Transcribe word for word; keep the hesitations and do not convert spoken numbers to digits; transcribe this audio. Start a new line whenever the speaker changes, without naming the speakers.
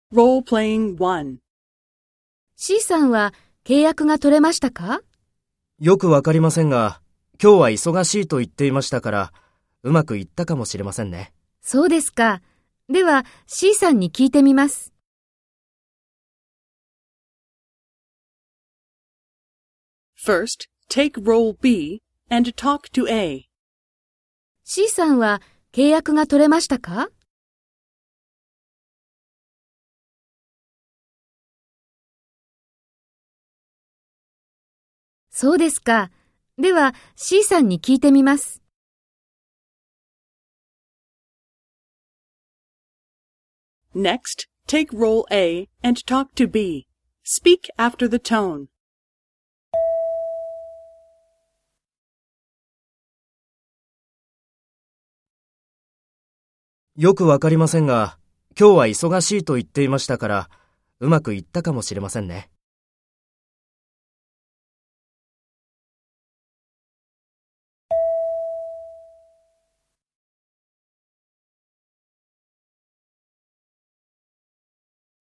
Role-playing one.
C さんは契約が取れましたか？
よくわかりませんが、今日は忙しいと言っていましたから、うまくいったかもしれませんね。
そうですか。では C さんに聞いてみます。
First, take role B and talk to A.
C さんは契約が取れましたか？そうですか。では C さんに聞いてみます。
Next, take role A and talk to B. Speak after the tone.
よくわかりませんが、今日は忙しいと言っていましたから、うまくいったかもしれませんね。